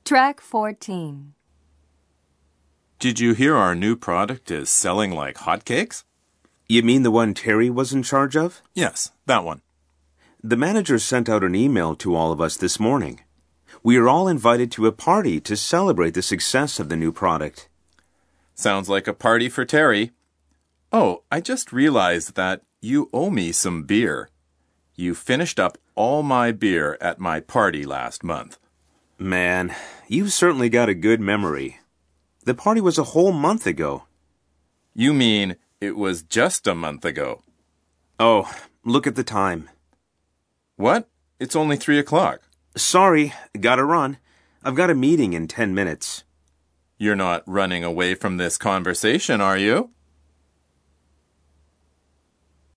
Track 14. Did you hear our new product is selling like hotcakes? You mean the one Terry was in charge of? Yes, that one. The manager sent out an email to all of us this morning. We are all invited to a party to celebrate the success of the new product. Sounds like a party for Terry. Oh, I just realized that you owe me some beer. You finished up all my beer at my party last month. Man, you've certainly got a good memory. The party was a whole month ago. You mean it was just a month ago? Oh, look at the time. What? It's only 3 o'clock. Sorry, gotta run. I've got a meeting in 10 minutes. You're not running away from this conversation, are you?